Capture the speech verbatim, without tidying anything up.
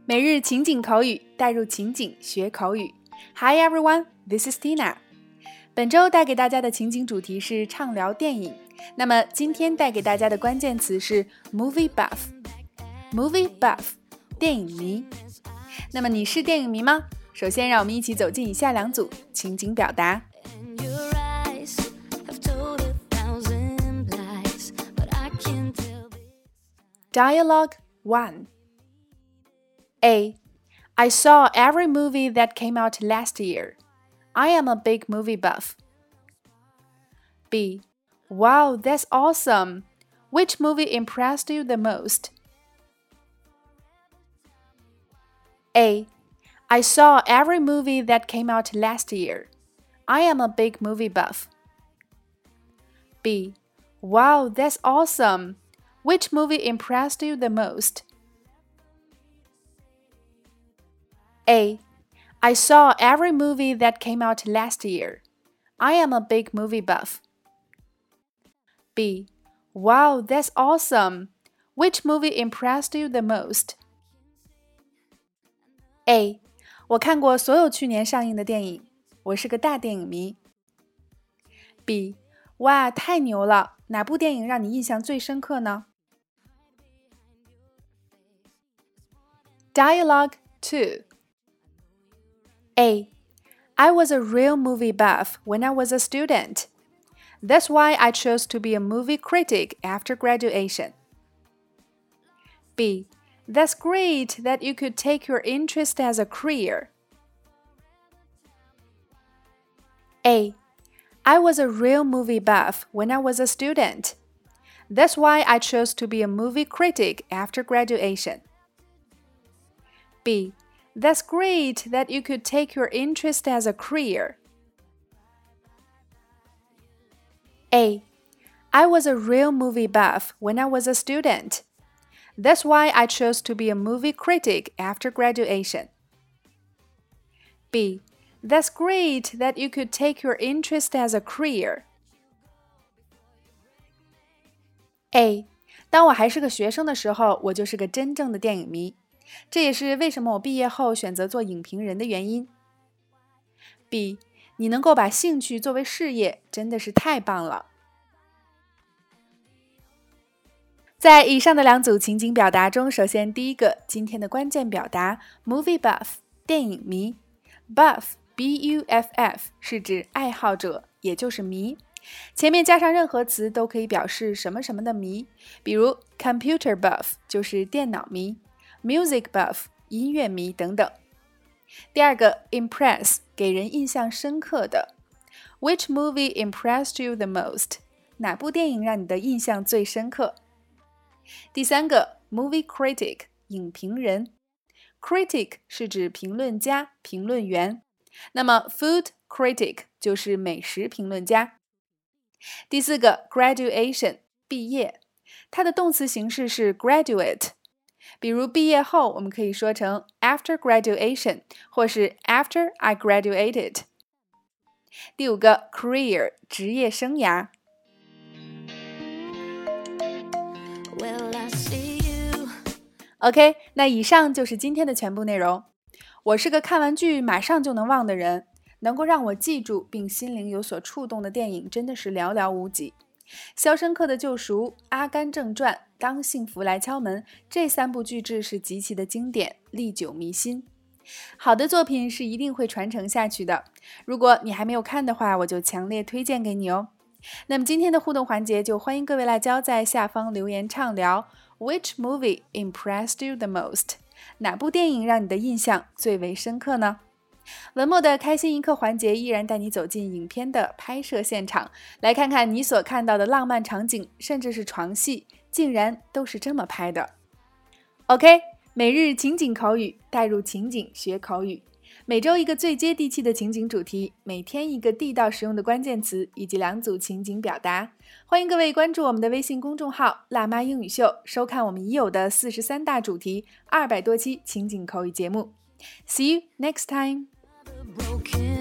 每日情景口语，带入情景学口语。Hi everyone, this is Tina. 本周带给大家的情景主题是畅聊电影。那么今天带给大家的关键词是 movie buff。movie buff， 电影迷。那么你是电影迷吗？首先让我们一起走进以下两组情景表达。Dialogue one. A. I saw every movie that came out last year. I am a big movie buff. B. Wow, that's awesome. Which movie impressed you the most? A. I saw every movie that came out last year. I am a big movie buff. B. Wow, that's awesome. Which movie impressed you the most? A. I saw every movie that came out last year. I am a big movie buff. B. Wow, that's awesome. Which movie impressed you the most? A. 我看过所有去年上映的电影，我是个大电影迷。B. 哇，太牛了，哪部电影让你印象最深刻呢？ Dialogue two. A. I was a real movie buff when I was a student. That's why I chose to be a movie critic after graduation. B. That's great that you could take your interest as a career. A. I was a real movie buff when I was a student. That's why I chose to be a movie critic after graduation. B. That's great that you could take your interest as a career. A. I was a real movie buff when I was a student. That's why I chose to be a movie critic after graduation. B. That's great that you could take your interest as a career. A. 当我还是个学生的时候，我就是个真正的电影迷。这也是为什么我毕业后选择做影评人的原因。B. 你能够把兴趣作为事业，真的是太棒了。在以上的两组情景表达中，首先第一个，今天的关键表达 movie buff， 电影迷。buff B U F F 是指爱好者，也就是迷。前面加上任何词都可以表示什么什么的迷，比如 computer buff 就是电脑迷， music buff 音乐迷等等。第二个 impress 给人印象深刻的。 Which movie impressed you the most? 哪部电影让你的印象最深刻？第三个 movie critic 影评人。 critic 是指评论家、评论员，那么 food critic 就是美食评论家。第四个 graduation 毕业，它的动词形式是 graduate， 比如毕业后我们可以说成 after graduation 或是 after I graduated。 第五个 career 职业生涯。OK， 那以上就是今天的全部内容。我是个看完剧马上就能忘的人，能够让我记住并心灵有所触动的电影真的是寥寥无几。肖申克的救赎、阿甘正传、当幸福来敲门，这三部巨制是极其的经典，历久弥新。好的作品是一定会传承下去的，如果你还没有看的话，我就强烈推荐给你哦。那么今天的互动环节就欢迎各位辣椒在下方留言畅聊 Which movie impressed you the most? 哪部电影让你的印象最为深刻呢？文末的开心一刻环节依然带你走进影片的拍摄现场，来看看你所看到的浪漫场景，甚至是床戏，竟然都是这么拍的。 OK， 每日情景口语，带入情景学口语。每周一个最接地气的情景主题，每天一个地道实用的关键词，以及两组情景表达。欢迎各位关注我们的微信公众号辣妈英语秀，收看我们已有的四十三大主题、二百多期情景口语节目。See you next time.